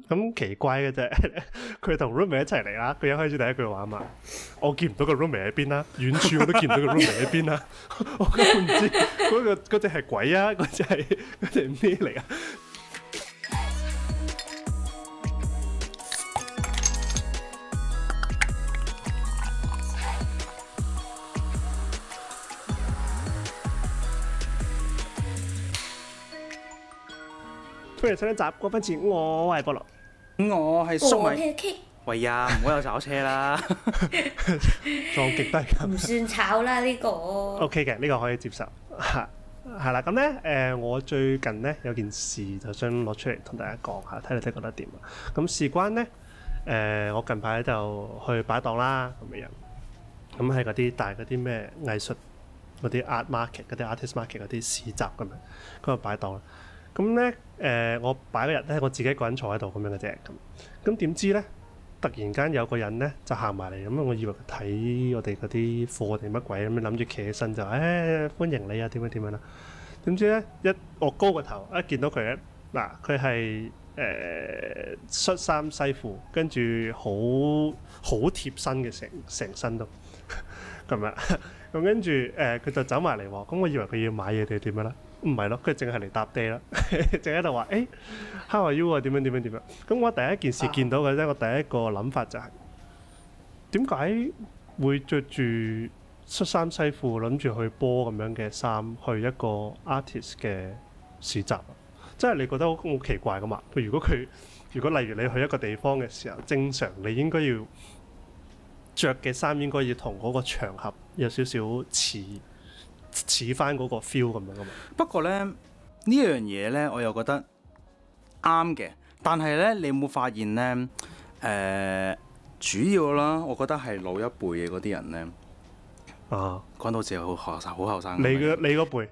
咁奇怪嘅啫，佢同 roommate 一齊嚟啦。佢一開始第一句話嘛，我見唔到個 roommate 喺邊啦，遠處我都見唔到個 roommate 喺邊啦。我根本唔知嗰隻係鬼啊，嗰隻係咩嚟啊？歡迎新一集《過分前》，我係菠蘿， 我係粟米。 喂呀，唔好有炒車啦， 撞極都係咁。 唔算炒啦呢個。 OK 嘅，呢個可以接受。係啦，咁咧我最近咧有件事就想攞出嚟同大家講下，睇你覺得點啊？咁事關咧我近排就去擺檔啦咁嘅樣，咁係嗰啲大嗰啲咩藝術嗰啲 art market 嗰啲 artist market 嗰啲市集咁樣嗰度擺檔啦。咁咧我擺嗰日咧，我自己一個人坐喺度咁樣嘅啫。咁點知咧，突然間有個人咧就行埋嚟，咁我以為佢睇我哋嗰啲貨定乜鬼咁樣，諗住企起身就歡迎你啊，點樣啦。點知咧我高個頭一見到佢咧，嗱佢係恤衫西褲，跟住好貼身嘅成身都咁樣。咁跟住佢就走埋嚟喎，咁我以為佢要買嘢定點樣啦？唔係咯，佢淨係嚟搭爹啦，淨喺度話how are you 啊，點樣。咁我第一件事見到嘅啫，我第一個諗法就係點解會着住恤衫西褲諗住去波咁樣嘅衫去一個 artist 嘅市集啊？即係你覺得好奇怪噶嘛？如果例如你去一個地方嘅時候，正常你應該要着嘅衫應該要同嗰個場合有少少似翻嗰個 feel 咁樣噶嘛。 不過咧呢樣嘢咧，我又覺得啱嘅。但係咧，你有冇發現咧？主要啦，我覺得係老一輩嘅嗰啲人咧。講到好似好後生。你嗰輩？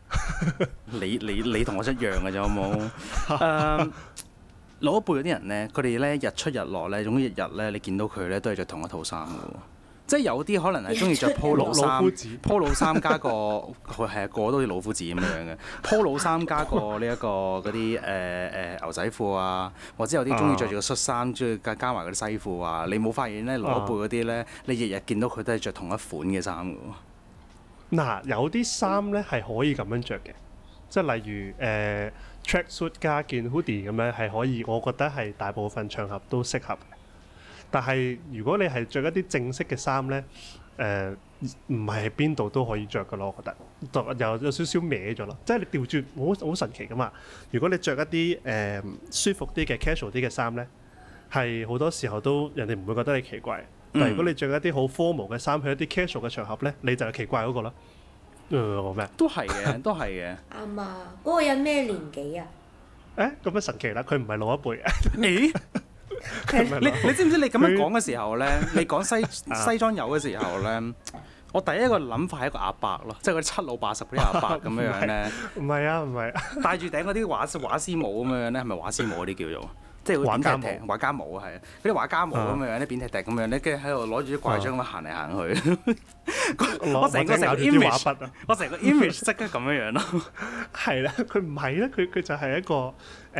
你同我一樣嘅啫，好冇？老一輩嗰啲人咧，佢哋咧日出日落咧，總之日日咧，你見到佢咧都係着同一套衫嘅喎。即係有啲可能係中意着 polo 衫，polo 衫加個係個個都好似老夫子咁樣嘅 polo 衫加個呢一個嗰啲牛仔褲啊，或者有啲中意着住個恤衫，中意加埋嗰啲西褲啊。你冇發現咧，老一輩嗰啲咧，你日日見到佢都係着同一款嘅衫嘅喎。 嗱，有啲衫咧係可以咁樣着嘅，即係例如tracksuit 加件 hoodie 咁樣係可以，我覺得係大部分場合都適合。但係如果你係着一啲正式嘅衫咧，唔係喺邊度都可以着噶咯，我覺得有少少歪咗咯。即係你調轉好神奇噶嘛。如果你着一啲舒服啲嘅 casual 啲嘅衫咧，係好多時候都人哋唔會覺得你奇怪。但係如果你着一啲好 formal 嘅衫去一啲 casual 嘅場合咧，你就係奇怪嗰個咯。我咩？ 都係嘅，都係嘅。 啱啊！嗰個人咩年紀啊？ 咁樣神奇啦！佢唔係老一輩。 你知唔知你咁樣講嘅時候咧，你講西裝友嘅時候咧，我第一個諗法係一個阿伯咯，即係嗰啲七老八十嗰啲阿伯咁樣樣咧。 唔係啊， 戴住頂嗰啲畫師帽咁樣樣咧，係咪畫師帽嗰啲叫做？即係畫家帽啊，係嗰啲畫家帽咁樣樣咧，扁踢踢咁樣咧，跟住喺度攞住啲怪章咁行嚟行去。我成個 image 即刻咁樣樣咯。 係啦，佢唔係咧，佢就係一個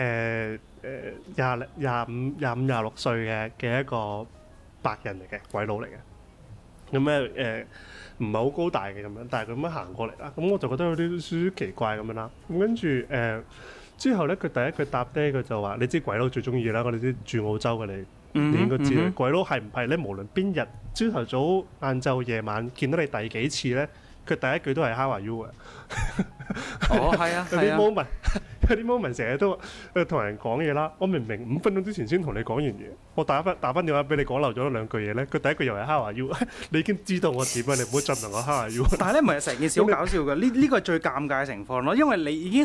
25-26歲嘅一個白人嚟嘅鬼佬嚟嘅。咁咧唔係好高大嘅咁樣，但係佢咁樣行過嚟啦，咁我就覺得有啲少少奇怪咁樣啦。咁跟住之後咧，佢第一句搭爹，佢就話：你知鬼佬最中意啦，我哋啲住澳洲嘅你應該知啦。鬼佬係唔係咧？無論邊日朝頭早、晏晝、夜晚見到你第幾次咧，佢第一句都係 How are you 嘅。 係啊， 有啲 moment 成日都同人講嘢啦。我明明5分鐘之前先同你講完嘢，我打翻電話俾你講漏咗兩句嘢咧，佢第一句又係 How are you， 你已經知道我點啊！你唔好再問我 How are you。 但係咧，唔係成件事好搞笑嘅，呢個係最尷尬嘅情況咯，因為你已經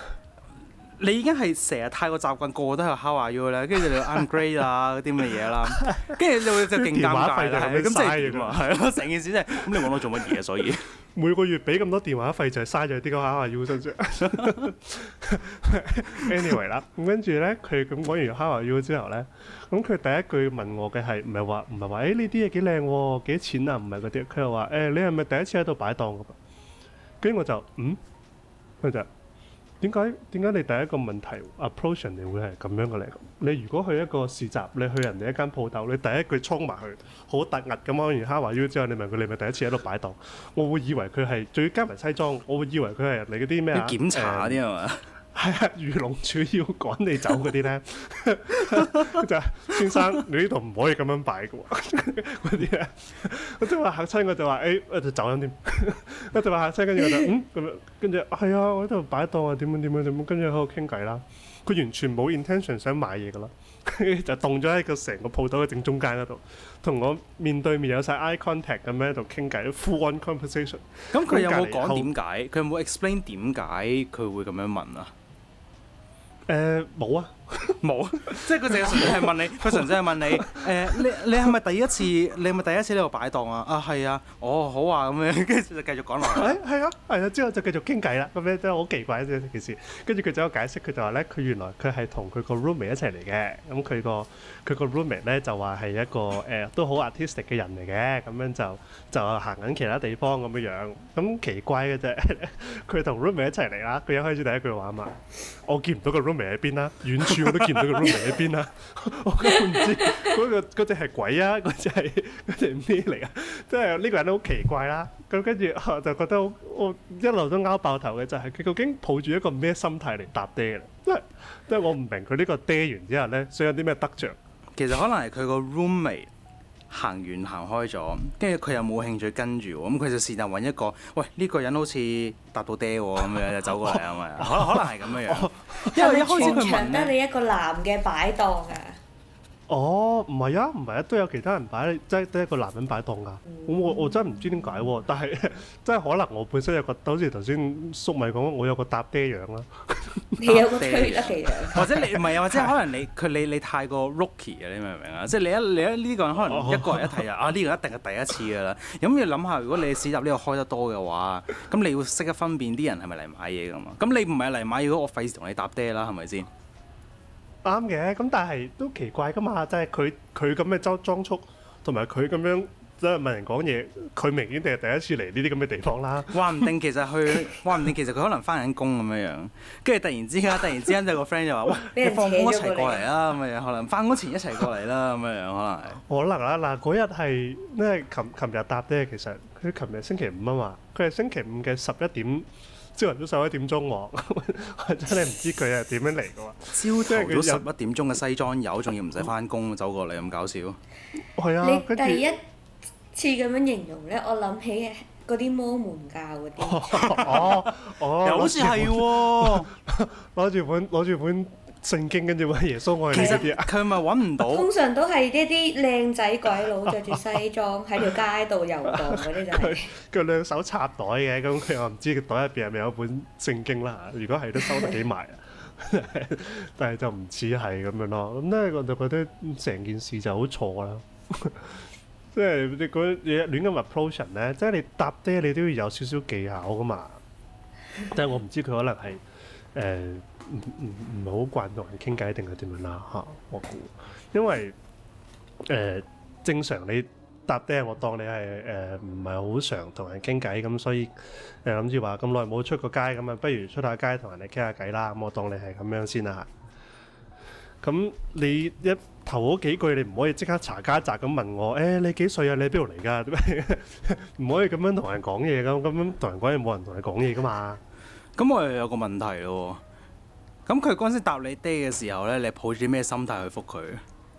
係成日太過習慣，個個都係 How are you 咧，跟住你 I'm great 啊嗰啲咁嘅嘢啦，跟住就勁尷尬啦。咁即係點啊？係咯，成件事真係咁，你揾我做乜嘢？所以每個月俾咁多電話費就係嘥咗啲個 How are you 身上。Anyway 啦，咁跟住咧，佢咁講完 How are you 之後咧，咁佢第一句問我嘅係唔係話呢啲嘢幾靚喎，幾錢啊？唔係嗰啲，佢又話你係咪第一次喺度擺檔㗎？跟住我就佢就點解你第一個問題 approach 人哋會係咁樣嘅咧？你如果去一個市集，你去人哋一間鋪頭，你第一句衝埋去，好突兀咁講完 How are you之後，你問佢你咪第一次喺度擺檔，我會以為佢係仲要加埋西裝，我會以為佢係人哋嗰啲咩啊？ 檢查嗰啲係嘛？ 係啊，漁農署要趕你走嗰啲咧，就係先生你呢度唔可以咁樣擺嘅喎，嗰啲咧，我即係話嚇親我就話我就走咗添，我就話嚇親跟住我就咁樣，跟住係啊，我喺度擺檔啊，點樣，跟住喺度傾偈啦，佢完全冇 intention 想買嘢嘅咯，就凍咗喺個成個鋪頭嘅正中間嗰度，同我面對面有晒 eye contact 咁樣喺度傾偈 ，full on conversation。 咁佢有冇講點解？佢有冇 explain 點解佢會咁樣問啊？ 冇啊， 冇，即係佢淨係純粹係問你，佢純粹係問你，你係咪第一次？你係咪第一次喺度擺檔啊？啊係啊，哦好啊咁樣，跟住就繼續講落去。係啊，之後就繼續傾偈啦。咁樣真係好奇怪呢件事。跟住佢就有解釋，佢就話咧，佢原來佢係同佢個 roommate 一齊嚟嘅。咁佢個 roommate 咧就話係一個都好 artistic 嘅人嚟嘅。咁樣就行緊其他地方咁樣樣。咁奇怪嘅啫，佢同 roommate 一齊嚟啦。佢一開始第一句話嘛，我見唔到個 roommate 喺邊啦，遠處我都見唔到個 roommate 喺邊啦，我根本唔知嗰隻係鬼啊，嗰隻咩嚟啊？即係呢個人都好奇怪啦。咁跟住我就覺得我一路都拗爆頭嘅就係佢究竟抱住一個咩心態嚟搭爹嘅？即係我唔明佢呢個爹完之後咧，想有啲咩得着？ 其實可能係佢個 roommate 行完行開咗，跟住佢又冇興趣跟住，咁佢就是但揾一個，喂呢個人好似搭到爹喎，咁樣就走過嚟啊嘛，可能係咁樣樣。因為一開始佢問得你一個男嘅擺檔啊。 哦，唔係啊，都有其他人擺，即係得一個男人擺檔㗎。我真係唔知點解喎，但係真係可能我本身有個，好似頭先粟米講，我有個搭爹樣啦。 你有個推得嘅樣， 或者你唔係啊，或者可能你太過 rookie 啊，你明唔明啊？即係你呢個人可能一個人一睇啊，呢個一定係第一次㗎啦。咁要諗下，如果你市集呢個開得多嘅話，咁你要識得分辨啲人係咪嚟買嘢㗎嘛？咁你唔係嚟買嘢，我費事同你搭爹啦，係咪先？ 啱嘅，咁但係都奇怪噶嘛，即係佢咁嘅裝束，同埋佢咁樣即係問人講嘢，佢明顯定係第一次嚟呢啲咁嘅地方啦。 話唔定其實佢可能翻緊工咁樣樣，跟住突然之間有個 friend 就話：喂，你放工一齊過嚟啦咁樣，可能翻工前一齊過嚟啦咁樣，可能啦。嗱，嗰日係因為琴日搭爹，其實佢琴日星期五啊嘛，佢係星期五嘅11點。朝頭早11點鐘喎，我真係唔知佢係點樣嚟嘅喎。 朝頭早11點鐘嘅西裝友，仲要唔使翻工走過嚟咁搞笑。 係啊， 你第一次咁樣形容咧，我諗起嗰啲摩門教嗰啲。 又好似係喎， 攞住本聖經跟住揾耶穌愛你嗰啲啊。 佢咪揾唔到。 通常都係一啲靚仔鬼佬着住西裝喺條街度遊蕩嗰啲就係。 佢兩手插袋嘅，咁佢又唔知個袋入邊係咪有本聖經啦。如果係都收得幾埋啊，但係就唔似係咁樣咯。咁咧我就覺得成件事就好錯啦。即係你嗰嘢亂咁 approach 人咧，即係你搭爹你都要有少少技巧噶嘛。即係我唔知佢可能係唔係好慣同人傾偈定係點樣啦嚇，我估，因為正常你搭爹，我當你係唔係好常同人傾偈咁，所以諗住話咁耐冇出過街咁啊，不如出下街同人哋傾下偈啦。咁我當你係咁樣先啦。咁你一頭嗰幾句你唔可以即刻查家宅咁問我，你幾歲啊？你喺邊度嚟㗎？唔可以咁樣同人講嘢咁樣同人講嘢冇人同你講嘢㗎嘛。 咁我又有個問題咯。咁佢嗰陣時答你爹嘅時候咧，你抱住啲咩心態去覆佢？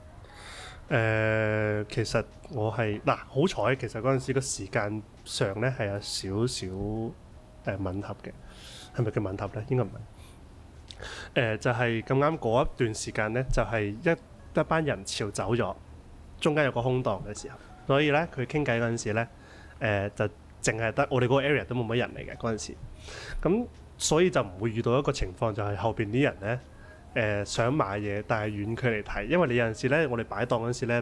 其實我係好彩，其實嗰陣時個時間上咧係有少少吻合嘅，係咪叫吻合咧？應該唔係。就係咁啱嗰一段時間咧，就係一班人潮走咗，中間有個空檔嘅時候，所以咧佢傾偈嗰陣時咧，就淨係得我哋嗰個 area 都冇乜人嚟嘅嗰陣時，咁。所以就唔會遇到一個情況，就係後邊啲人咧，想買嘢，但係遠距離睇，因為你有陣時咧，我哋擺檔嗰陣時咧，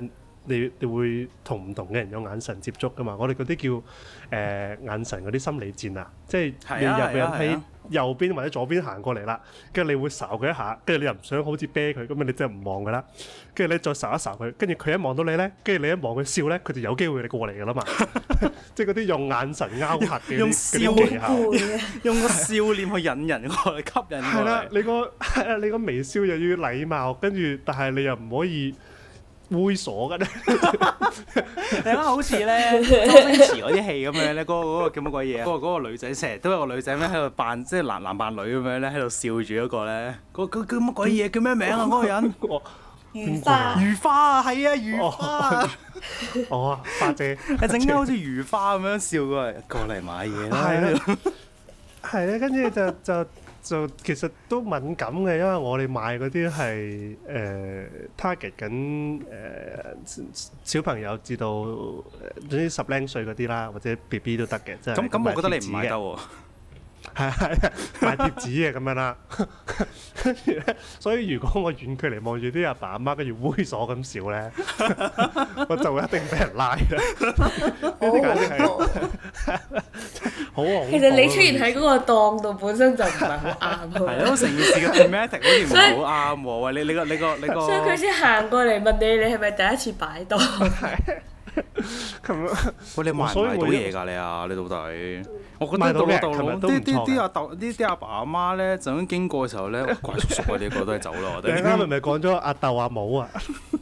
你會同唔同嘅人有眼神接觸噶嘛？我哋嗰啲叫眼神嗰啲心理戰啊，即係有個人喺右邊或者左邊行過嚟啦，跟住你會睄佢一下，跟住你又唔想好似啤佢，咁你真係唔望噶啦，跟住你再睄一睄佢，跟住佢一望到你咧，跟住你一望佢笑咧，佢就有機會你過嚟噶啦嘛，即係嗰啲用眼神勾嚇嘅用笑技巧， 用個笑臉去引人過嚟，吸引過嚟。係啦， 你個微笑又要禮貌，跟住但係你又唔可以猥瑣嘅咧， 你諗好似咧周星馳嗰啲戲咁樣咧，嗰個叫乜鬼嘢啊？嗰個女仔成日都有個女仔咩喺度扮，即係男扮女咁樣咧，喺度笑住嗰個咧，嗰叫乜鬼嘢？叫咩名啊？嗰個人如花， 如花啊，係啊，如花。 哦，花姐， 係整間好似如花咁樣笑過嚟買嘢啦。 係咧，跟住就其實都敏感嘅，因為我哋賣嗰啲係target 緊小朋友至到總之10零歲嗰啲啦，或者 BB 都得嘅，即係咁我覺得你唔買得喎。 係賣貼紙嘅咁樣啦，跟住咧，所以如果我遠距離望住啲阿爸阿媽跟住猥瑣咁笑咧，我就會一定俾人拉嘅。呢啲簡直係好恐怖。 其實你出現喺嗰個檔度本身就唔係好啱。 係咯，成件事嘅 thematic 好似唔係好啱喎。喂，你個， 所以佢先行過嚟問你係咪第一次擺檔？ 咁喂，你賣唔賣到嘢㗎？你到底？我覺得到啲阿爸阿媽咧，就咁經過嘅時候咧，怪叔叔啊！你個都係走啦，我哋。 你啱啱咪講咗阿豆阿母啊？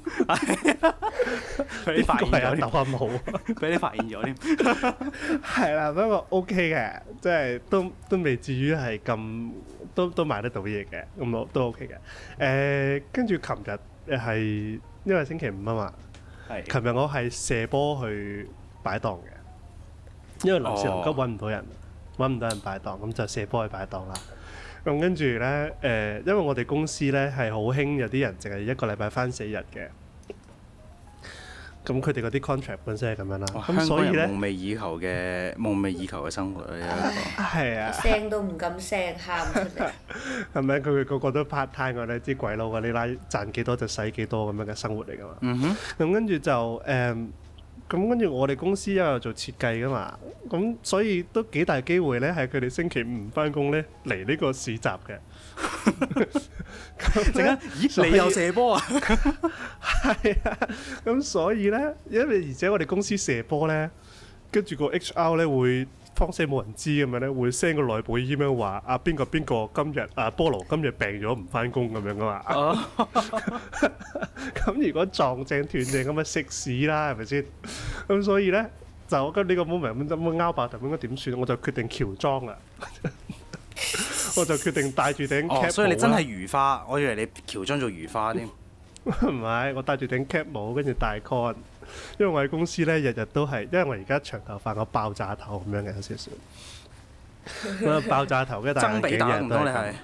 俾你發現咗阿豆阿母， 俾你發現咗添。 係啦，不過 OK 嘅，即係都未至於係咁，都買得到嘢嘅，咁我都 OK 嘅。跟住琴日係因為星期五啊嘛，琴日我係射波去擺檔嘅。因為臨時臨急揾唔到人擺檔，咁就射波去擺檔啦。咁跟住咧，因為我哋公司咧係好興有啲人淨係一個禮拜返4日嘅。咁佢哋嗰啲 contract 本身係咁樣啦。咁所以咧， 夢寐以求嘅生活啊！ 係啊， 聲都唔敢聲，喊出嚟。 係咪？佢個個都 part time 㗎咧，啲鬼佬㗎，你拉賺幾多就使幾多咁樣嘅生活嚟㗎嘛。咁跟住就咁跟住我哋公司又有做設計噶嘛，咁所以都幾大機會咧，係佢哋星期五返工咧嚟呢個市集嘅。陣間，咦？你又射波啊？係啊，咁所以咧，因為而且我哋公司射波咧，跟住個 HR 咧會方死冇人知咁樣咧，會 send 個內部 email 話啊邊個今日菠蘿今日病咗唔返工咁樣噶嘛。咁如果撞正斷正咁咪食屎啦，係咪先？咁所以咧就我覺得呢個 moment 咁拗爆頭應該點算？我就決定喬裝啊！我就決定戴住頂 cap 帽。 所以你真係如花，我以為你喬裝做如花添。 唔係，我戴住頂 cap 帽，跟住戴 con。因為我喺公司咧，日日都係，因為我而家長頭髮，我爆炸頭咁樣嘅有少少。咁爆炸頭嘅戴眼鏡日日都係。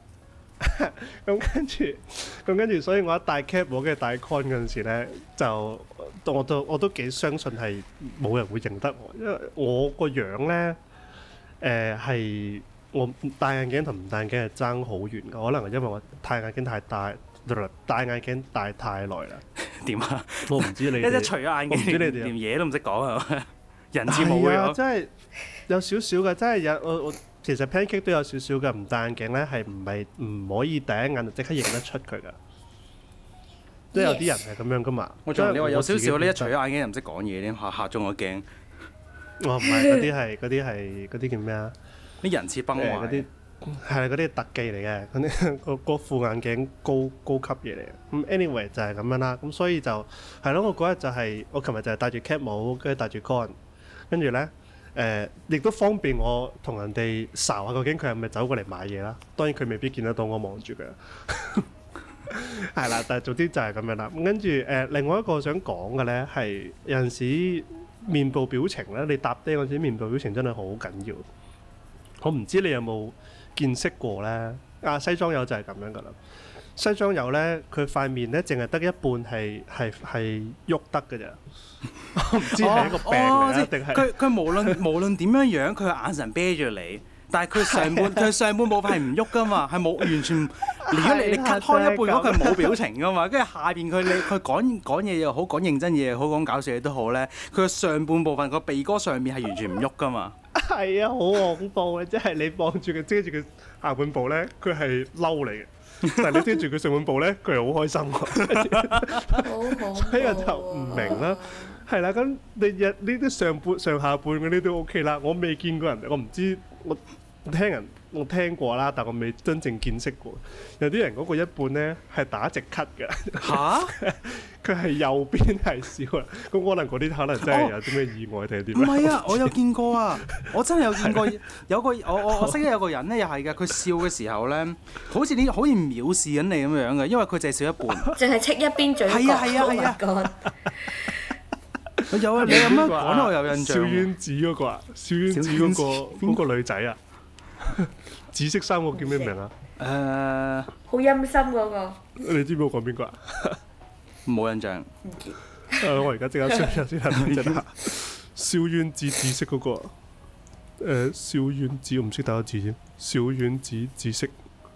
咁跟住，所以我一戴 cap 帽跟住戴 con 嗰陣時咧，就我都幾相信係冇人會認得我，因為我個樣咧係我戴眼鏡同唔戴眼鏡係爭好遠㗎，可能係因為我戴眼鏡太大。戴眼鏡戴太耐啦， 點啊？ 我唔知你哋一除咗眼鏡，連嘢都唔識講啊！人字冇嘅， 真係有少少嘅，真係有我其實 pancake 都有少少嘅，唔戴眼鏡咧係唔可以第一眼就即刻認得出佢噶，即係有啲人係咁樣噶嘛。 你話有少少，你一除咗眼鏡又唔識講嘢添，嚇中我驚。 我唔係嗰啲叫咩啊？ 啲人設崩壞嗰啲。 係嗰啲特技嚟嘅，嗰副眼鏡高級嘢嚟嘅。咁 anyway 就係咁樣啦。咁所以就係咯，我嗰日就係我琴日就係戴住 cap 帽，跟住戴住 con，跟住咧亦都方便我同人哋睄下究竟佢係咪走過嚟買嘢啦。當然佢未必見得到我望住佢。係啦，但係總之就係咁樣啦。咁跟住另外一個想講嘅咧係有陣時面部表情咧，你搭爹嗰陣時面部表情真係好緊要。我唔知你有冇見識過咧？西裝友就係咁樣噶啦。西裝友咧，佢塊面咧淨係得一半係喐得嘅咋。我唔知係一個病嚟定係佢無論點樣樣，佢眼神啤住你， 但係佢上半部分係唔喐噶嘛，係冇完全。如果你 cut 開一半，如果佢冇表情噶嘛，跟住下邊佢講嘢又好，講認真嘢又好，講搞笑嘢都好咧，佢嘅上半部分個鼻哥上面係完全唔喐噶嘛。 係啊，好恐怖嘅，即係你望住佢遮住佢下半部咧，佢係嬲你嘅。但係你遮住佢上半部咧，佢係好開心喎。所以我就唔明啦。係啦，咁你呢啲上下半嗰啲都 OK 啦。我未見過人，我唔知我聽過啦，但我未真正見識過。有啲人嗰個一半咧係打直咳嘅。嚇！佢係右邊係笑啦。咁可能嗰啲可能真係有啲咩意外定係點？唔係啊，我有見過啊！我真係有見過，有個我識得有個人咧，又係嘅。佢笑嘅時候咧，好似藐視緊你咁樣嘅，因為佢淨係笑一半， 淨係戚一邊嘴角。係啊！ 有啊，你咁樣講我有印象。 小丸子嗰個啊，小丸子嗰個女仔啊，紫色衫個叫咩名啊？ 好陰森嗰個。 你知唔知我講邊個啊？ 冇印象。 我而家即刻 search 先啦，小丸子紫色嗰個。小丸子我唔識打個字先，小丸子紫色。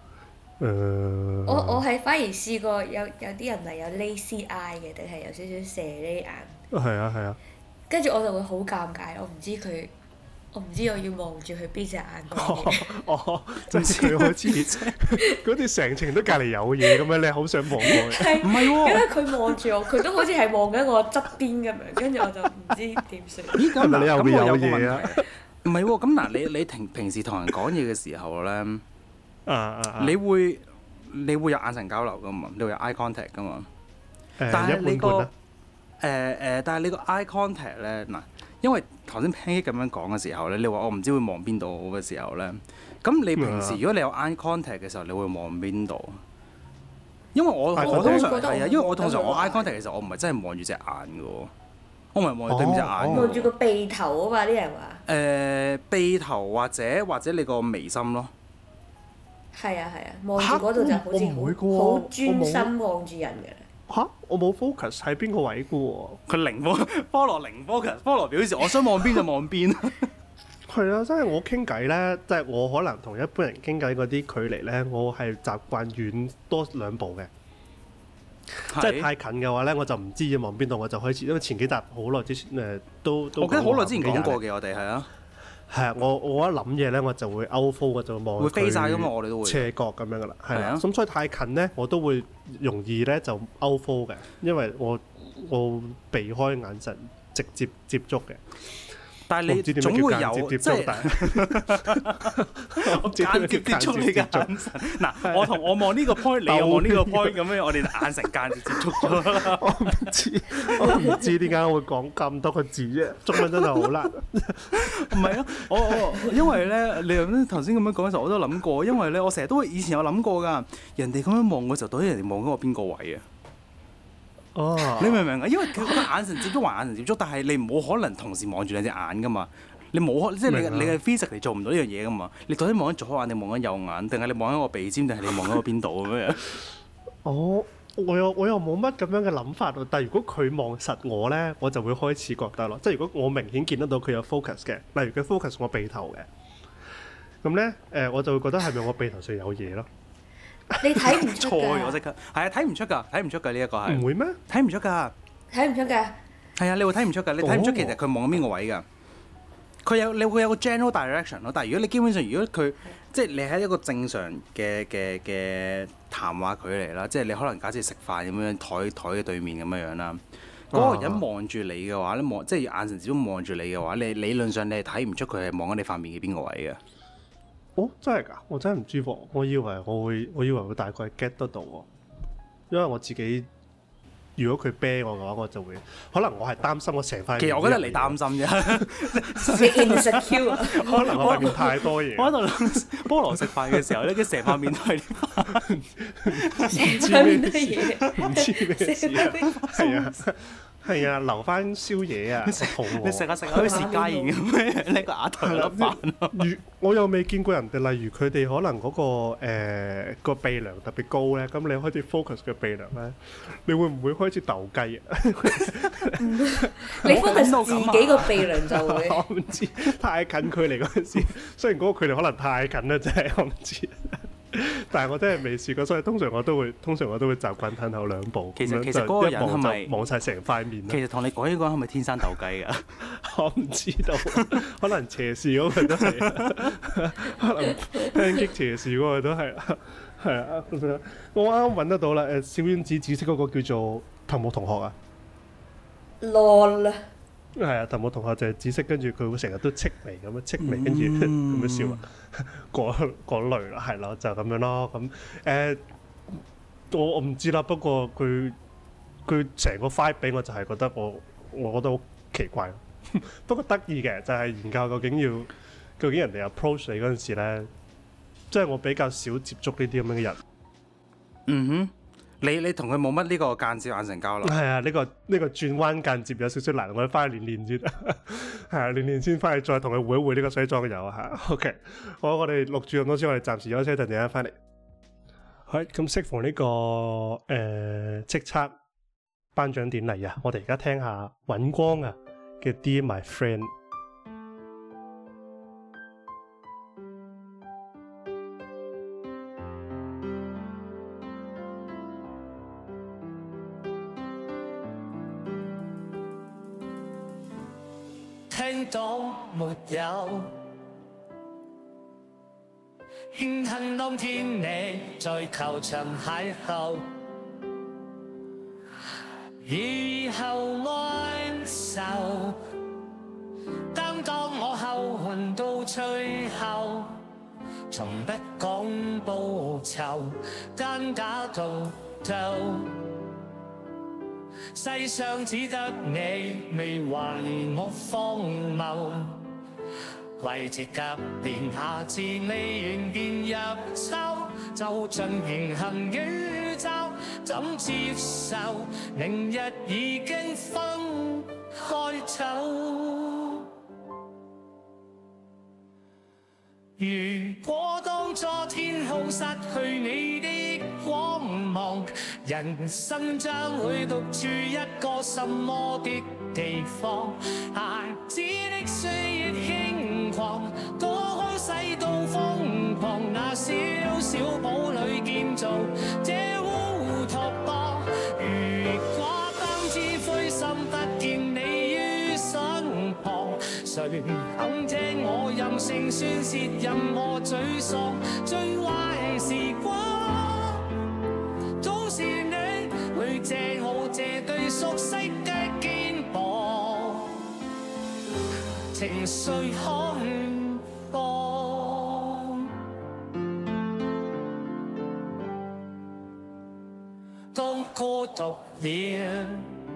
我係反而試過有啲人係有 lazy eye 嘅，定係有少少蛇呢眼。 係啊。 跟住我就會好尷尬，我唔知我要望住佢邊隻眼講嘢。 即係佢開始嗰啲成程都隔離有嘢咁樣，你好想望過去。 唔係喎， 因為佢望住我，佢都好似係望緊我側邊咁樣，跟住我就唔知點算。 咦？咁你後邊有嘢啊？ 唔係喎，咁嗱，你平時同人講嘢嘅時候咧，你會有眼神交流噶嘛？你會有 eye contact 噶嘛？但係你個但係你個 eye contact 咧，嗱，因為頭先 Pancake 咁樣講嘅時候咧，你話我唔知會望邊度嘅時候咧，咁你平時如果你有 eye contact 嘅時候，你會望邊度？因為我通常係啊，因為我通常我 eye contact 嘅時候，我唔係真係望住隻眼嘅喎，我唔係望住對面隻眼。 望住個鼻頭啊嘛，啲人話。 鼻頭或者你個眉心咯。係啊，望住嗰度就好似好專心望住人嘅。 嚇！我冇 focus 喺邊個位嘅喎。 佢菠蘿零 focus，菠蘿表示我想望邊就望邊。 係啊，真係我傾偈咧，即係我可能同一般人傾偈嗰啲距離咧，我係習慣遠多2步嘅。即係太近嘅話咧，我就唔知要望邊度，我就開始，因為前幾集好耐之前都我記得好耐之前講過嘅，我哋係啊。係啊，我一諗嘢咧，我就會 out fold，我就望會飛晒㗎嘛，我哋都會斜角咁樣噶啦，係啊。咁所以太近咧，我都會容易咧就 out fold 嘅，因為我避開眼神直接接觸嘅。但係你總會有即係我間接接觸你嘅眼神。嗱，我望呢個 point， 你又望呢個 point， 咁樣我哋眼神間接接觸咗啦。 我唔知點解我會講咁多個字啫，中文真係好難。 唔係啊，我因為咧，你頭先咁樣講嘅時候，我都諗過，因為咧，我成日都以前有諗過㗎。人哋咁樣望嘅時候，到底人哋望緊我邊個位啊？你明唔明啊？因為佢眼神接觸還眼神接觸，但係你冇可能同時望住兩隻眼噶嘛。你冇即係你嘅 physical 做唔到呢樣嘢噶嘛。你到底望緊左眼定望緊右眼，定係你望緊個鼻尖，定係你望緊個邊度咁樣？ 我又冇乜咁樣嘅諗法喎。但係如果佢望實我咧，我就會開始覺得咯。即係如果我明顯見得到佢有 focus 嘅，例如佢 focus 我鼻頭嘅，咁咧我就會覺得係咪我鼻頭上有嘢咯？ 你睇唔出㗎？ 錯咗即刻，係啊，睇唔出㗎呢一個係。 唔會咩？ 睇唔出㗎。係啊，你會睇唔出㗎，你睇唔出其實佢望緊邊個位㗎。你會有個 general direction 咯，但係如果你基本上如果佢即係你喺一個正常嘅談話距離啦，即係你可能假設食飯咁樣台嘅對面咁樣啦，嗰個人望住你嘅話咧，即係眼神始終望住你嘅話，你理論上你係睇唔出佢係望緊你塊面嘅邊個位嘅。 真係㗎！我真係唔知喎，我以為會大概 get 得到喎，因為我自己如果佢啤我嘅話，我就會可能我係擔心我成塊面。其實我覺得你擔心啫， 你 insecure 可能我塊面太多嘢。 我喺度諗菠蘿食飯嘅時候咧，佢成塊面都係成塊面都係嘢， 唔知咩事啊？係啊， 係啊，留翻宵夜啊，肚餓。 你食下好似薛家燕咁樣，呢個額頭有粒飯。 我又未見過人哋，例如佢哋可能嗰個鼻梁特別高咧，咁你開始 focus 嘅鼻梁咧，你會唔會開始鬥雞啊？ 你 focus 自己個鼻梁就會。 我唔知，太近距離嗰陣時，雖然嗰個距離可能太近啦，真係我唔知。但係我真係未試過，所以通常我都會習慣褪後兩步。 其實嗰個人係咪望晒成塊面？ 其實同你講呢個人係咪天生鬥雞㗎？ 我唔知道，可能斜視嗰個都係，可能抨擊斜視嗰個都係，係啊！我啱啱揾得到啦，小丸子紫色嗰個叫做藤木同學啊。 LOL。 係啊，藤木同學就係紫色，跟住佢會成日都戚眉咁樣，戚眉跟住咁樣笑啊，嗰類啦，係咯，就咁樣咯。咁我唔知啦。不過佢成個 vibe 俾我就係覺得我覺得好奇怪。不過得意嘅就係研究究竟人哋 approach 你嗰陣時咧，即係我比較少接觸呢啲咁樣嘅人。嗯哼。 你同佢冇乜呢個間接眼神交流？ 係啊，呢個轉彎間接有少少難，我哋翻去練先。係啊，練先翻去再同佢會一會呢個西裝友啊嚇。OK， 好，我哋錄住咁多先，我哋暫時休息一陣，陣間翻嚟。好，咁適逢呢個叱咤頒獎典禮啊，我哋而家聽下尹光啊嘅 Dear My Friend。 聽到沒有？慶幸當天你在球場邂逅，以後安守。擔當我後魂到最後，從不講報酬，單打獨鬥。世上只得你未還我荒謬，為這急變下自你仍然入手，就像平行宇宙，怎接受明日已經分開走？如果當初天空失去你的光芒，人生將會獨處一個什麼的地方？孩子的歲月輕狂，多開世道瘋狂，那小小堡壘建造這烏托邦。如果當知灰心不見你於身旁，誰肯聽我任性宣泄任何沮喪？最壞時光總是你會借我這對熟悉的肩膀，情緒開放。當孤獨了，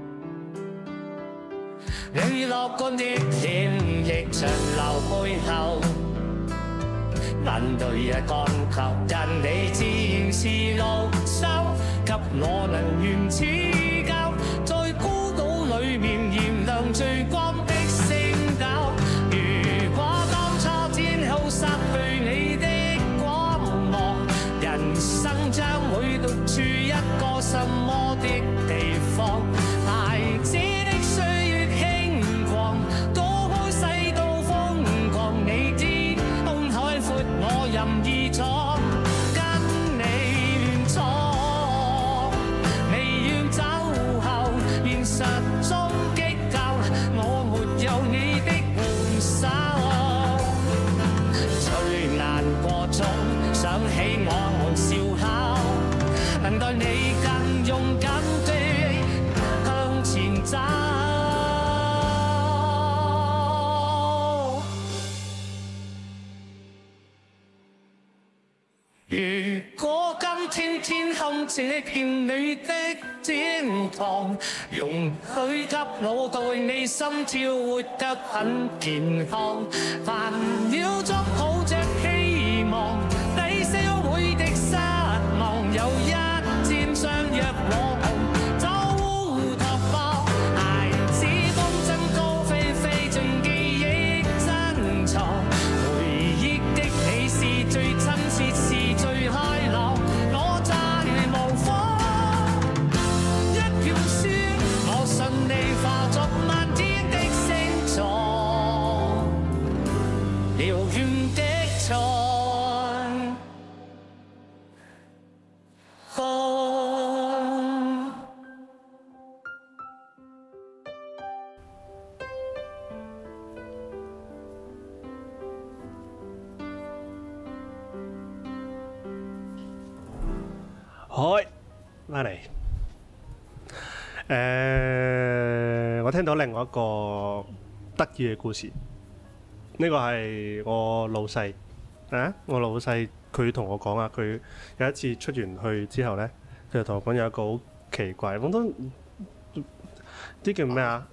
你樂觀的臉亦長留背後，眼淚也乾涸，但你自然是綠洲，給我能源似舊，在孤島裡面燃亮最光的星斗。如果當初天空失去你的光芒，人生將會獨處一個什麼的地方？孩子的歲月輕狂，躲開世道瘋狂，你知空海闊我任意闖，跟你亂闖，你要走後現實中激鬥，我沒有你的援手，最難過中想起我們笑口，能待你更勇敢的向前走。如果今天天空這片你的天堂，容許給我對你心跳活得很健康，煩擾中抱着希望，抵消每的失望，有一天相約我們走烏托邦。 開翻嚟。我聽到另外一個得意嘅故事。呢個係我老細啊！我老細佢同我講啊，佢有一次出完去之後呢，佢就同我講有一個好奇怪，我都啲叫咩啊？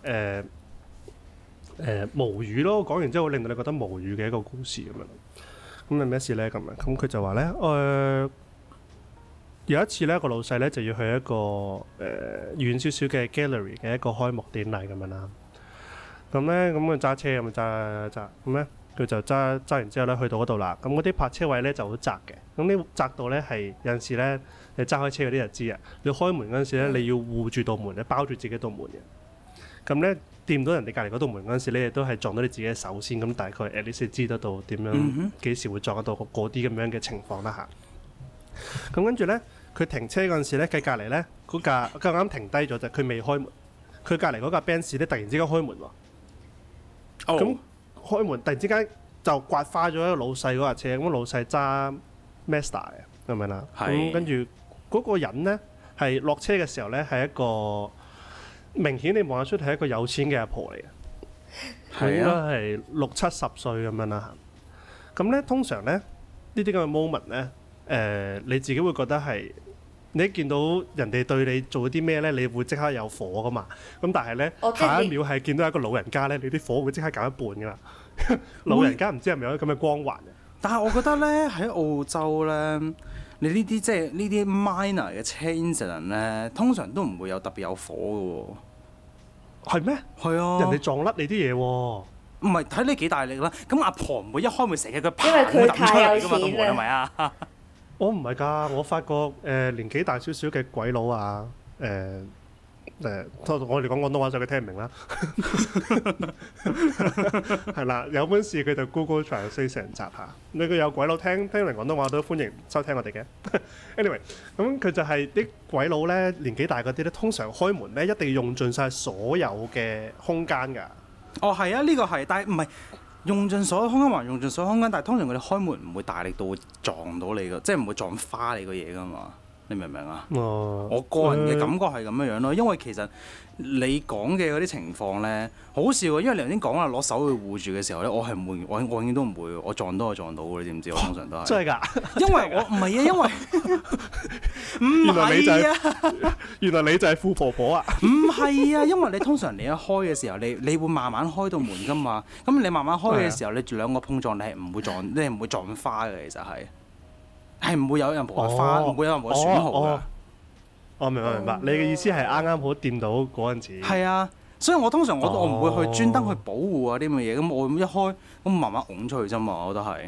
無語咯，講完之後令到你覺得無語嘅一個故事咁樣。咁係咩事呢？咁樣咁佢就話呢，有一次呢個老細呢就要去一個遠少少嘅 gallery 嘅一個開幕典禮咁樣啦。咁咧，咁佢揸車咁揸，咁咧佢就揸完之後咧，去到嗰度啦。咁嗰啲泊車位咧就好窄嘅。咁呢窄到咧係有陣時咧，你揸開車嗰啲就知啊。你開門嗰陣時咧，你要護住道門，你包住自己道門嘅。咁咧掂到人哋隔離嗰道門嗰陣時咧，你都係撞到你自己嘅手先。咁大概 at least 知得到點樣幾時會撞得到嗰啲咁樣嘅情況啦嚇。咁跟住咧，佢停車嗰陣時咧，佢隔離咧嗰架啱啱停低咗啫，佢未開門。佢隔離嗰架 Benz 咧突然之間開門喎。咁開門突然之間就刮花咗一個老細嗰架車，咁老細揸 Mazda 嘅，係咪啦？咁跟住嗰個人呢，係落車嘅時候呢，係一個明顯你望得出係一個有錢嘅阿婆嚟嘅，佢應該係60-70歲咁樣啦。咁呢，通常呢，呢啲咁嘅 moment 呢，你自己會覺得係。你一見到人哋對你做啲咩咧，你會即刻有火噶嘛？咁但係咧，下一秒係見到一個老人家咧，你啲火會即刻減一半噶啦。老人家唔知係咪有啲咁嘅光環嘅？ 但係我覺得咧喺澳洲咧，你呢啲即係呢啲 minor 嘅車 incident 咧，通常都唔會有特別有火嘅喎。係咩？係啊，人哋撞甩你啲嘢喎。唔係睇你幾大力啦。咁阿婆唔會一開門成日佢砰咁抌出嚟㗎嘛，個門係咪啊？ 我唔係㗎，我發覺年紀大少少嘅鬼佬啊，我哋講廣東話就佢聽唔明啦。係啦，有本事佢就 Google Translate 成集下。你佢有鬼佬聽明廣東話都歡迎收聽我哋嘅。Anyway， 咁佢就係啲鬼佬咧，年紀大嗰啲咧，通常開門咧一定要用盡晒所有嘅空間㗎。 哦，係啊，呢個係，但係唔係。用盡所有空間還用盡所有空間，但係通常佢哋開門唔會大力到會撞到你噶，即係唔會撞花你個嘢噶嘛，你明唔明啊？我個人嘅感覺係咁樣樣咯，因為其實你講嘅嗰啲情況咧，好笑啊！因為你頭先講話攞手去護住嘅時候咧，我係唔會，我永遠都唔會，我撞到就撞到嘅，你知唔知？我通常都係。真係㗎？因為我唔係啊，因為唔係啊， 原來你就係富婆婆啊？ 唔係啊，因為你通常你一開嘅時候，你會慢慢開到門㗎嘛。咁你慢慢開嘅時候，你兩個碰撞，你係唔會撞，你係唔會撞花嘅，其實係唔會有任何花，唔會有任何損耗㗎。 我明白，你嘅意思係啱啱好掂到嗰陣時。係啊，所以我通常我唔會去專登去保護啊啲咁嘅嘢，咁我一開咁慢慢拱出去啫嘛，我覺得係。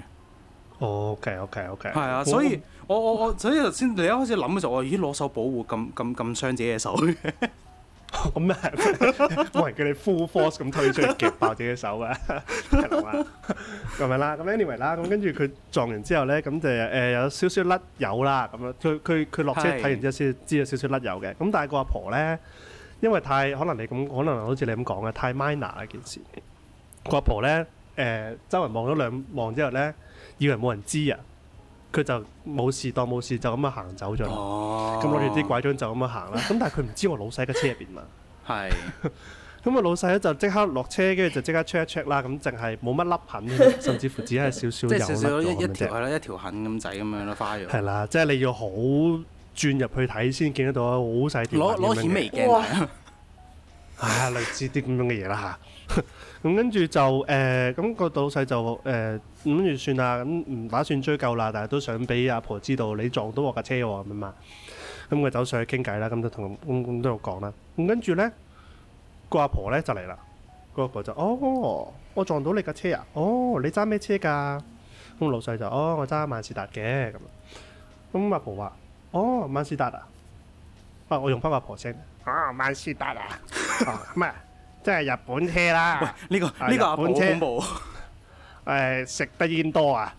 OK。 係啊，所以我所以頭先你一開始諗嘅時候，我已經攞手保護咁傷自己嘅手嘅。 咁咩？冇人叫你 full force 咁推出去夾爆自己手啊！係嘛？咁樣啦，咁 anyway 啦，咁跟住佢撞完之後咧，咁就有少少甩油啦，咁樣佢落車睇完之後先知有少少甩油嘅。咁但係個阿婆咧，因為太可能好似你咁講嘅太 minor 一件事，個阿婆咧周圍望咗兩望之後咧，以為冇人知啊。佢就冇事當冇事就咁樣行走咗，咁攞住啲拐杖就咁樣行啦。咁但係佢唔知我老細嘅車入邊嘛。係。咁啊老細咧就即刻落車，跟住就即刻 check 一 check 啦。咁淨係冇乜粒痕，甚至乎只係少少油甩咗咁啫。 係啦，一條痕咁仔咁樣咯，花咗。 係啦，即係你要好轉入去睇先見得到好細條痕咁樣嘅。 攞顯微鏡。 係類似啲咁樣嘅嘢啦嚇。咁跟住就咁個老細就跟住算啦，咁唔打算追究啦，但係都想俾阿婆知道你撞到我架車喎咁嘛。咁佢走上去傾偈啦，咁就同咁都有講啦。咁跟住咧，個阿婆咧就嚟啦。個阿婆就我撞到你架車啊！你揸咩車㗎？咁老細就我揸萬事達嘅咁。咁阿婆話萬事達啊！我用翻阿婆聲萬事達啊！咩？即係日本車啦！ 喂，呢個阿婆好恐怖。 食得煙多啊！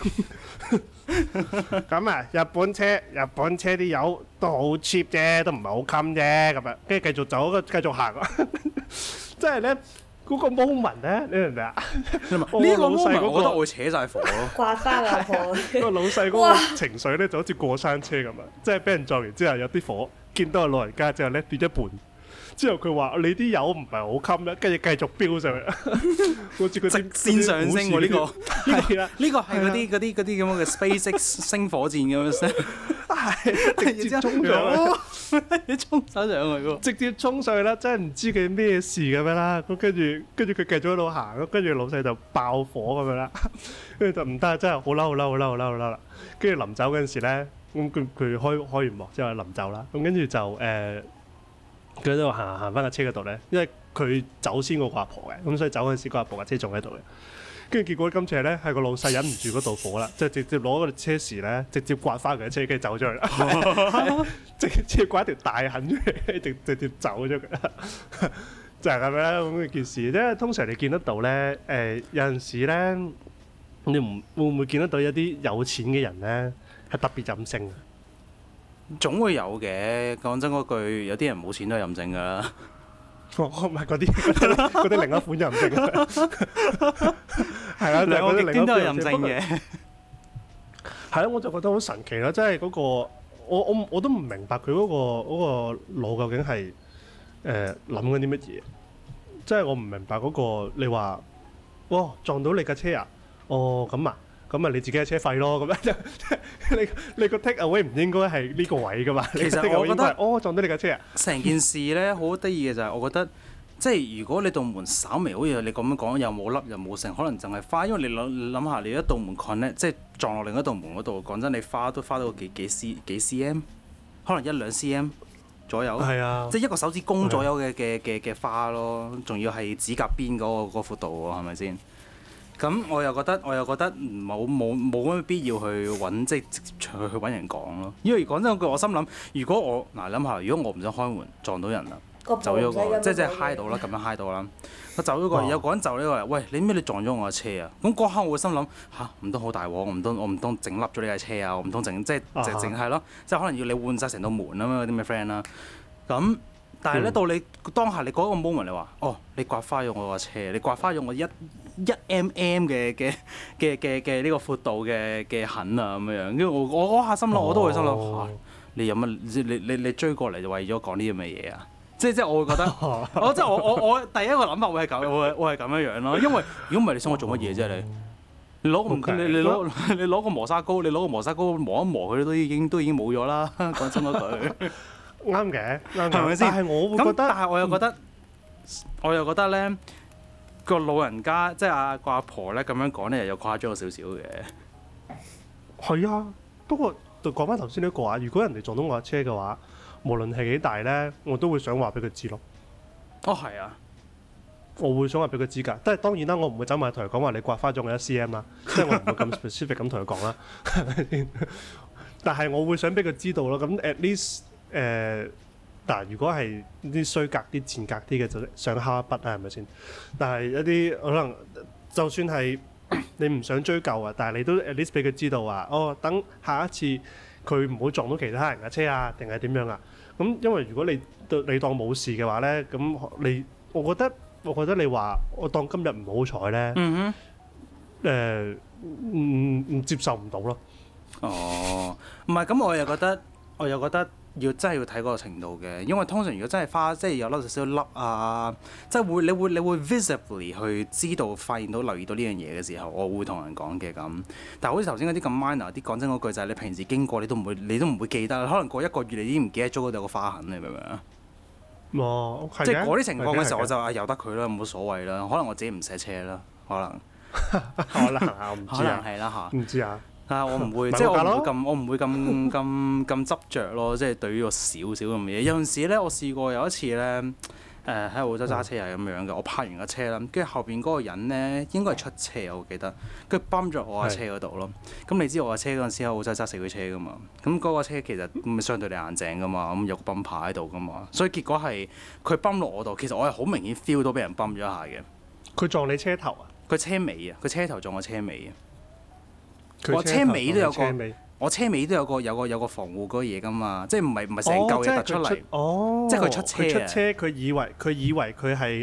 咁啊，日本車啲油都好 cheap 啫，都唔係好襟啫咁啊。跟住繼續走，繼續行。即係咧， 嗰個 moment 咧，你明唔明啊？ 呢個 moment 我覺得我會扯晒火咯。 刮花老婆。 個老細嗰個情緒咧就好似過山車咁啊！即係俾人撞完之後有啲火，見到個老人家之後咧跌一半。之後佢話：你啲油唔係好襟啦，跟住繼續飆上去，好似佢直線上升喎呢個。 係啦， 呢個係嗰啲咁樣嘅 SpaceX 星火箭咁樣聲， 係直接衝上去， 你衝手上去喎， 直接衝上去啦！真係唔知佢咩事咁樣啦。咁跟住佢繼續喺度行，咁跟住老細就爆火咁樣啦。跟住就唔得，真係好嬲好嬲好嬲好嬲好嬲啦！跟住臨走嗰陣時咧，咁佢開完幕之後臨走啦，咁跟住就佢喺度行翻架車嗰度咧，因為佢走先個阿婆嘅，咁所以走嗰陣時個阿婆架車仲喺度嘅。跟住結果今次咧係個老細忍唔住嗰道火啦，就直接攞個車匙咧，直接刮翻佢架車，跟住走咗去啦，直接刮一條大痕出嚟，直接走咗佢啦。就係咁樣咁嘅件事。因為通常你見得到咧，有陣時咧，你會唔會見得到有啲有錢嘅人咧係特別任性？ 總會有嘅，講真嗰句，有啲人冇錢都係任性噶啦。 唔係嗰啲另一款任性，係啦， 兩個極端都係任性嘅。 係咯，我就覺得好神奇啦！即係嗰個我都唔明白佢嗰個腦究竟係諗緊啲乜嘢？即係我唔明白嗰個你話，哇撞到你架車啊！哦咁啊！咁咪你自己嘅車費咯，咁樣你個 take away 唔應該係呢個位噶嘛？ 其實我覺得撞到你架車啊！ 成件事咧好得意嘅就係，我覺得即係如果你道門稍微好似你咁樣講，又冇凹又冇剩，可能淨係花，因為你諗下，你一道門 connect 即係撞落另一道門嗰度，講真，你花到幾 cm， 可能1-2 cm 左右， 係啊， 即係一個手指公左右嘅花咯，仲要係指甲邊嗰個闊度喎，係咪先？咁我又覺得冇乜必要去揾，即係直接去揾人講咯。因為講真句，我心諗，如果我諗下，如果我唔想開門撞到人啦，走咗個，即係嗨到啦，咁樣嗨到啦，我走咗個，有個人就呢個，喂，你咩你撞咗我架車啊？咁嗰刻我會心諗嚇，唔通好大鑊，我唔通整笠咗你架車啊？我唔通整即係淨係咯，即係可能要你換晒成道門啊嘛，啲咩 friend 啦。咁但係咧到你當下你嗰個 moment 你話，哦，你刮花咗我架車，你刮花咗我1 mm 嘅呢個闊度嘅痕啊咁樣，跟住我嗰下心諗，我都會心諗你有乜你追過嚟就為咗講呢啲咁嘅嘢啊？即係我會覺得，我第一個諗法會係咁，我係咁樣樣咯。因為如果唔係你想我做乜嘢啫？你攞個磨砂膏，磨一磨佢都已經冇咗啦。講真嗰句， 啱嘅， 係咪先？ 但係我會覺得， 但係我又覺得咧。個老人家即係個阿婆咧咁樣講咧，又誇張咗少少嘅。 係啊，不過就講翻頭先呢個話，如果人哋撞到我架車嘅話，無論係幾大咧，我都會想話俾佢知咯。 哦，係啊， 我會想話俾佢知㗎。但係當然啦，我唔會走埋同佢講話你刮花咗我1 cm 啦，即係我唔會咁 specific 咁同佢講啦。但係我會想俾佢知道咯。咁 at least 嗱，如果係啲衰格啲、賤格啲嘅，就想敲一筆啊，係咪先？但係一啲可能，就算係你唔想追究啊，但係你都 at least 俾佢知道啊。哦，等下一次佢唔好撞到其他人嘅車啊，定係點樣啊？咁因為如果你當冇事嘅話咧，咁我覺得你話我當今日唔好彩咧，唔接受唔到咯。 哦，唔係咁，我又覺得。真係要睇嗰個程度嘅，因為通常如果真係即係有粒少少粒啊，即係你會 visibly 去知道、發現到、留意到呢樣嘢嘅時候，我會同人講嘅咁。但係好似頭先嗰啲咁 minor 啲，講真嗰句就係你平時經過你都唔會記得，可能過1個月你已經唔記得咗嗰度有個花痕，你明唔明啊？ 哦， 即係嗰啲情況嘅時候，我就由得佢啦，冇所謂啦。可能我自己唔寫車啦，可能我唔知啊， 係啦嚇， 唔知啊。 我唔會，即係我唔會咁執着咯。即係對於個少少咁嘅嘢，有陣時咧，我試過有一次咧，喺澳洲揸車又係咁樣嘅。我泊完架車啦，跟住後邊嗰個人咧應該係出車，我記得，跟住泵咗我架車嗰度咯。咁你知我架車嗰陣時喺澳洲揸4驅車噶嘛？咁嗰個車其實相對地硬淨噶嘛，咁有個泵牌喺度噶嘛，所以結果係佢泵落我度，其實我係好明顯 feel 到俾人泵咗一下嘅。 佢撞你車頭啊？ 佢車尾啊！佢車頭撞我車尾啊！我車尾都有個防護嗰個嘢噶嘛，即係唔係成嚿嘢突出嚟，即係佢出車， 佢以為佢係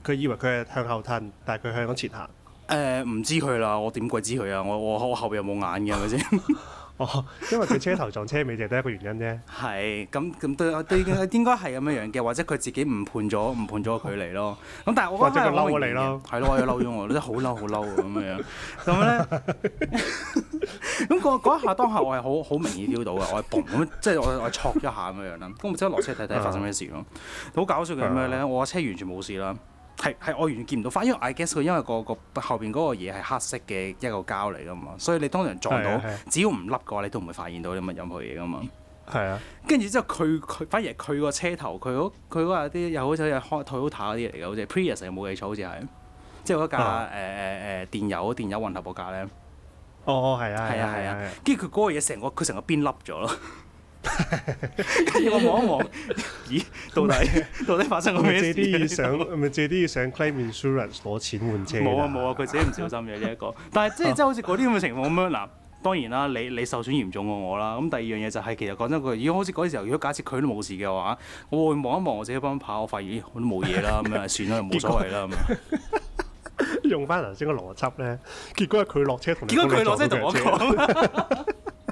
佢以為佢係向後褪，但係佢向咗前行。 唔知佢啦，我點鬼知佢啊？我後邊有冇眼嘅係咪先？ 哦，因為佢車頭撞車尾就係得一個原因啫。 係咁對應該係咁樣樣嘅，或者佢自己誤判咗個距離咯。咁但係我覺得或者佢嬲咗你咯。 係咯，我又嬲咗我，真係好嬲咁樣。咁咧，咁嗰一下當下我係好明顯 feel 到嘅，我係嘣咁，即係我挫一下咁樣啦。咁我即刻落車睇睇發生咩事咯。好搞笑嘅係咩咧？我架車完全冇事啦。係我完全見唔到花，因為 I guess 佢因為個後邊嗰個嘢係黑色嘅一個膠嚟噶嘛，所以你通常撞到，只要唔凹嘅話，你都唔會發現到啲乜任何嘢噶嘛。係啊，跟住之後佢反而係佢個車頭，佢嗰啲又好似係 Toyota 嗰啲嚟嘅，好似 Prius 冇記錯，好似係，即係嗰架電油混合嗰架咧。哦，係啊，跟住佢嗰個嘢佢成個邊凹咗咯。跟住我望一望，咦？到底發生過咩事？ 咪借啲要上 claim insurance 攞錢換車？ 冇啊！佢自己唔小心嘅呢一個。但係即係好似嗰啲咁嘅情況咁樣嗱，當然啦，你受損嚴重過我啦。咁第二樣嘢就係其實講真句，如果好似嗰時候，如果假設佢都冇事嘅話，我會望一望我自己幫跑，我發現我都冇嘢啦，咁樣算啦，冇所謂啦咁。 用翻頭先個邏輯咧，結果係佢落車同你講。 結果佢落車同我講。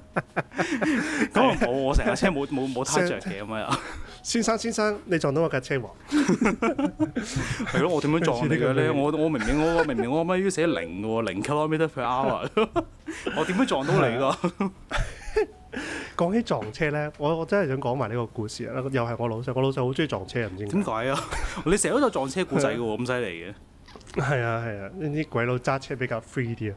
咁我成架車冇撻着嘅咁樣。 先生，你撞到我架車喎。 係咯，我點樣撞你嘅咧？我明明我乜要寫0嘅喎，0 kilometre per hour。我點樣撞到你㗎？ 講起撞車咧，我真係想講埋呢個故事啊！又係我老細好中意撞車，唔知點解啊？你成日都有撞車故仔嘅喎，咁犀利嘅。 係啊，呢啲鬼佬揸車比較 free 啲啊。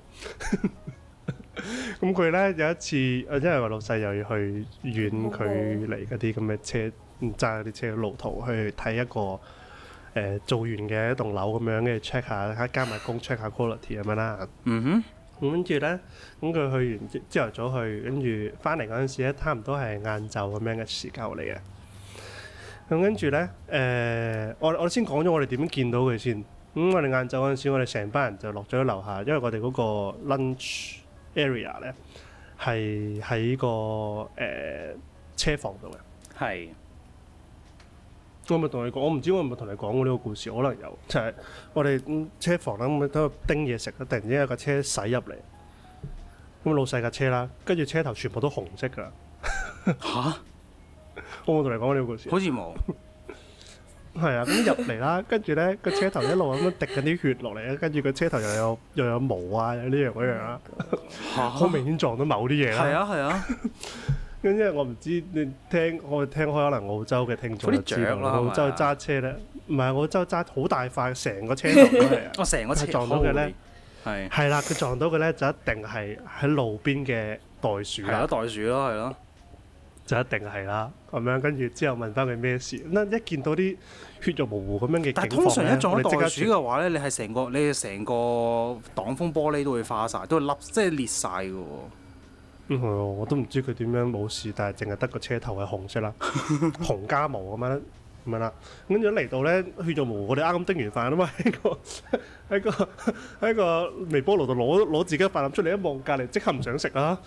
咁佢咧有一次，因為我老細又要去遠距離嗰啲咁嘅車，揸嗰啲車嘅路途去睇一個做完嘅一棟樓咁樣，跟住 check 下，加埋工 check 下 quality 咁樣啦。咁跟住咧，咁佢去完朝頭早去，跟住翻嚟嗰陣時咧，差唔多係晏晝咁樣嘅時間嚟嘅。咁跟住咧，我先講咗我哋點樣見到佢先。咁我哋晏晝嗰陣時，我哋成班人就落咗樓下，因為我哋嗰個 lunch area 咧係喺個車房度嘅。係。我咪同你講，我唔知我係咪同你講過呢個故事，可能有。就係我哋車房啦，咁喺度叮嘢食啦，突然之間有架車駛入嚟，咁老細架車啦，跟住車頭全部都紅色㗎。嚇！我冇同你講過呢個故事。好似冇。係啊，咁入嚟啦，跟住咧個車頭一路咁樣滴緊啲血落嚟啦，跟住個車頭又有毛啊，有呢樣嗰樣啦，好明顯撞到某啲嘢啦。係啊。咁因為我唔知你聽開可能澳洲嘅聽眾就知道啦。澳洲揸車咧，唔係澳洲揸好大塊，成個車頭都係啊。成個車撞到嘅咧，係啦，佢撞到嘅咧就一定係喺路邊嘅袋鼠啦。係咯，袋鼠咯，係咯。就一定係啦，咁樣跟住之後問翻佢咩事，一見到啲血肉模糊咁樣嘅情況咧，但係通常一撞到袋鼠嘅話咧，你係成個擋風玻璃都會花晒，都會凹，即係裂晒嘅喎。我都唔知佢點樣冇事，但係淨係得個車頭係紅色啦，紅加毛咁樣啦。跟住嚟到咧，血肉模糊，我哋啱叮完飯啊嘛，喺個微波爐度攞自己嘅飯粒出嚟，一望隔離即刻唔想食啊！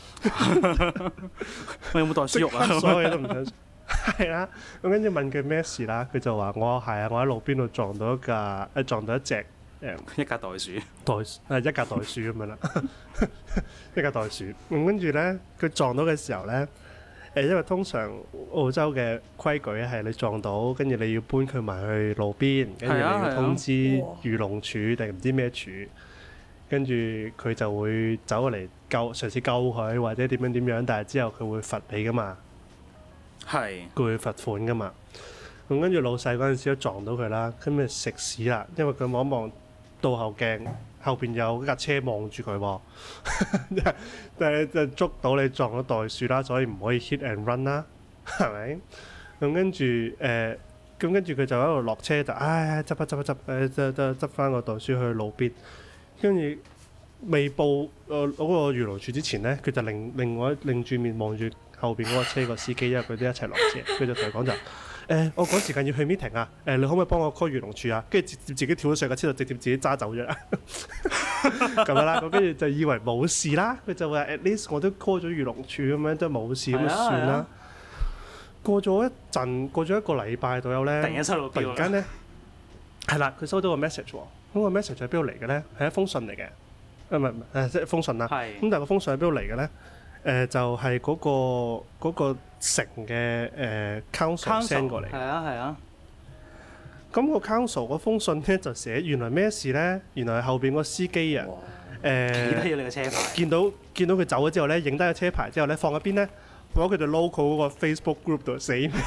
我有冇袋鼠肉啊？所有嘢都唔想食。係啦，咁跟住問佢咩事啦，佢就話我喺路邊度撞到一隻一架袋鼠，一架袋鼠咁樣啦，一架袋鼠。咁跟住咧，佢撞到嘅時候咧。因為通常澳洲嘅規矩係你撞到，跟住你要搬佢埋去路邊，跟住你要通知漁農署定唔知咩署，跟住佢就會走過嚟嘗試救佢或者點樣，但係之後佢會罰你噶嘛，佢會罰款噶嘛。咁跟住老細嗰陣時都撞到佢啦，咁咪食屎啦，因為佢望一望倒後鏡。後邊有架車望住佢喎，但係就捉到你撞咗袋鼠啦，所以唔可以 hit and run 啦，係咪？咁跟住佢就喺度落車就執翻個袋鼠去路邊，跟住未報嗰個漁農署之前咧，佢就擰住面望住後邊嗰個車個司機，因為佢哋一齊落車，佢就同佢講就。我趕時間要去 meeting 啊！你可唔可以幫我 call 漁農署啊？跟住自己跳咗上架車度，直接自己揸走咗咁樣啦。咁跟住就以為冇事啦。佢就話 at least 我都 call 咗漁農署咁樣，都冇事咁就算啦。過咗一個禮拜左右咧，突然間咧係啦，佢收到個 message 喎。咁個 message 喺邊度嚟嘅咧？係一封信嚟嘅。唔係即係封信啦。咁但係個封信喺邊度嚟嘅咧？就係嗰個城嘅council send 過嚟。 係啊。 咁個 council 嗰封信咧就寫原來咩事咧？原來係後邊個司機啊， 記低咗你個車牌。見到佢走咗之後咧，影低個車牌之後咧，放喺邊咧？放喺佢哋 local 嗰個 Facebook group 度死咩？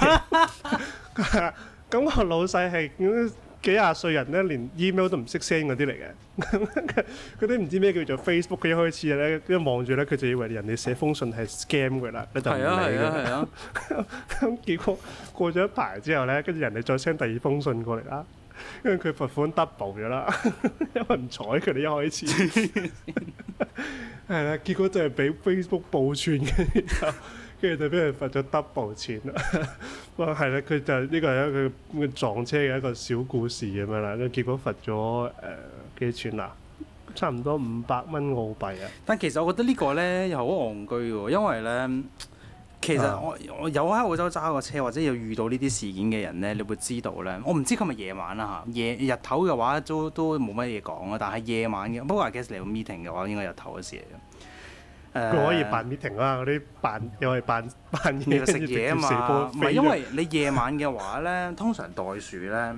咁個老細係幾廿歲人咧，連 email 都唔識 send 嗰啲嚟嘅。佢啲唔知咩叫做 Facebook，佢一開始咧一望住咧，佢就以為人哋寫封信係 scam 佢啦，佢就唔理佢。係啊。咁結果過咗一排之後咧，跟住人哋再 send 第二封信過嚟啦，跟住佢罰款 double 咗啦，因為唔睬佢哋一開始。係啦，結果就係俾 Facebook 報串嘅。跟住就俾人罰咗 double 錢啦。哇，係啦，佢就呢個係一個撞車嘅一個小故事咁樣啦。結果罰咗幾錢啊？差唔多500蚊澳幣啊！ 但其實我覺得呢個咧又好戇居喎，因為咧其實我有喺澳洲揸過車或者有遇到呢啲事件嘅人咧，你會知道咧。我唔知佢係咪夜晚啦嚇，日頭嘅話都冇乜嘢講啊。但係夜晚嘅，不過 I guess 嚟個 meeting 嘅話，應該日頭嘅事嚟嘅。 佢可以扮 meeting 啦，嗰啲又係扮嘢食嘢啊嘛。唔係因為你夜晚嘅話咧，通常袋鼠咧，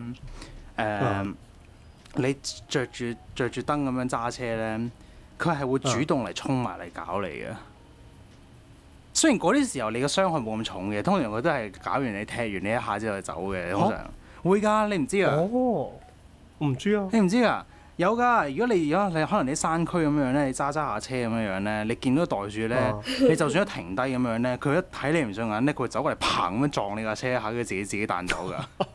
你着住燈咁樣揸車咧，佢係會主動嚟衝埋嚟搞你嘅。雖然嗰啲時候你嘅傷害冇咁重嘅，通常佢都係搞完你踢完你一下之後就走嘅。通常會㗎，你唔知啊？ 哦，我唔知啊。 你唔知㗎？有㗎，如果你可能你山區咁樣咧，你揸下車咁樣咧，你見到袋鼠咧，你就算一停低咁樣咧，佢一睇你唔順眼咧，佢會走過嚟砰咁樣撞你架車一下，佢自己彈走㗎。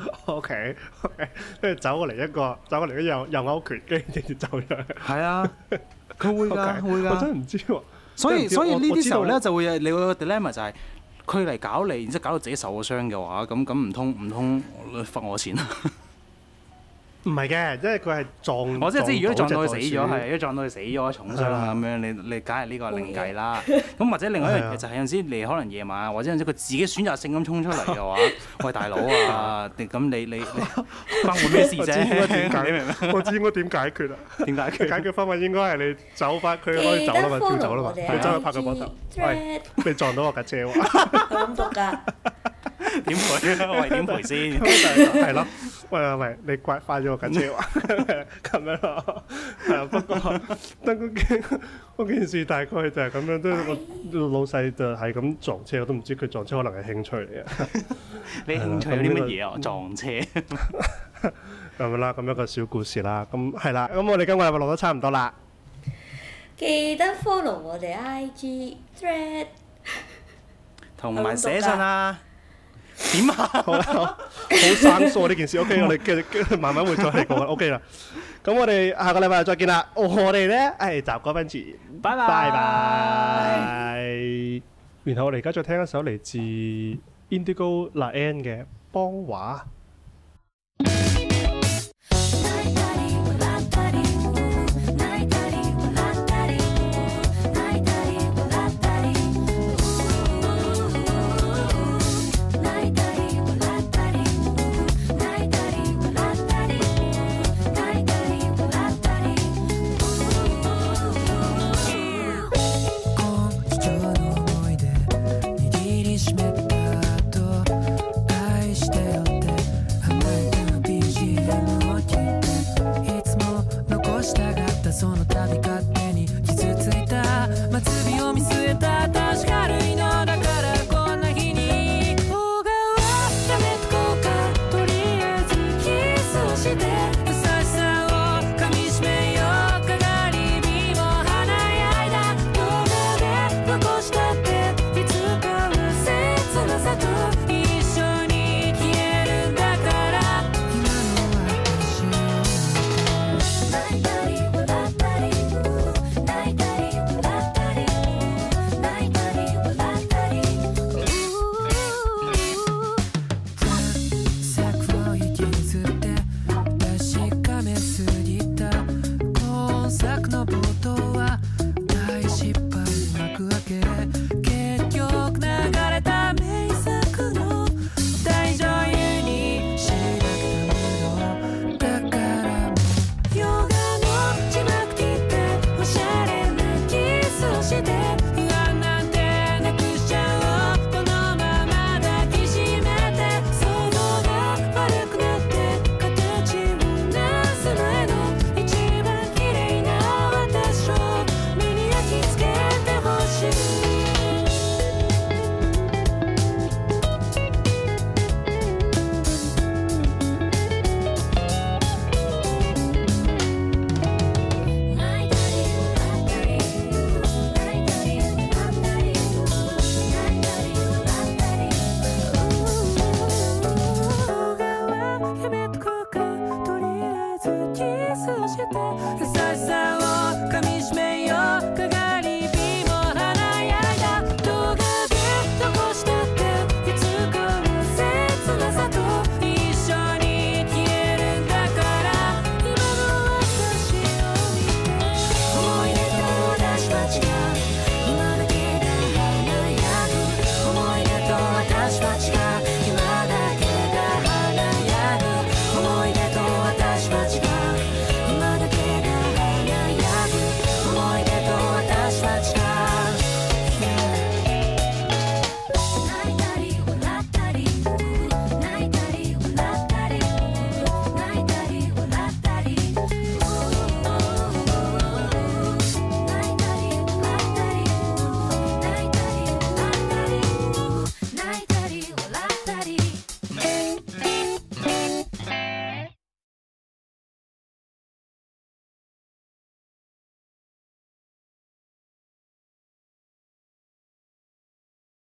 OK，跟住走過嚟一右勾拳，跟住直接走咗。係啊，佢會㗎，會㗎。 我真係唔知喎。 所以呢啲時候咧就會有你個 dilemma 就係佢嚟搞你，然之後搞到自己受咗傷嘅話，咁唔通罰我錢啊？ 唔係嘅，因為佢係撞。 我即係如果撞到佢死咗，係如果撞到佢死咗重傷啊咁樣，你梗係呢個另計啦。咁或者另外一樣嘢就係有陣時你可能夜晚或者有陣時佢自己選擇性咁衝出嚟嘅話，喂大佬啊，咁你關我咩事啫？ 你明唔明？我知應該點解決啊？點解決？解決方法應該係你走翻，佢可以走啦嘛，跳走啦嘛，你走去拍佢膊頭。喂，你撞到我架車喎！ 咁毒㗎？ 點賠啊？喂，點賠先？ 係咯。喂，你快咗我架車喎，咁樣咯。係啊，不過嗰件事大概就係咁樣，都老細就係咁撞車，我都唔知佢撞車可能係興趣嚟嘅。 你興趣有啲乜嘢啊？撞車咁樣啦，咁一個小故事啦。咁係啦，咁我哋今個禮拜錄得差唔多啦。 記得 follow 我哋 IG thread， 同埋寫信啊！點啊？ 好生疏呢件事。OK， 我哋繼續慢慢會再嚟講。OK 啦，咁我哋下個禮拜再見啦。我哋咧係習歌賓治，拜拜。然後我哋而家再聽一首嚟自 Indigo La N 嘅《邦華》。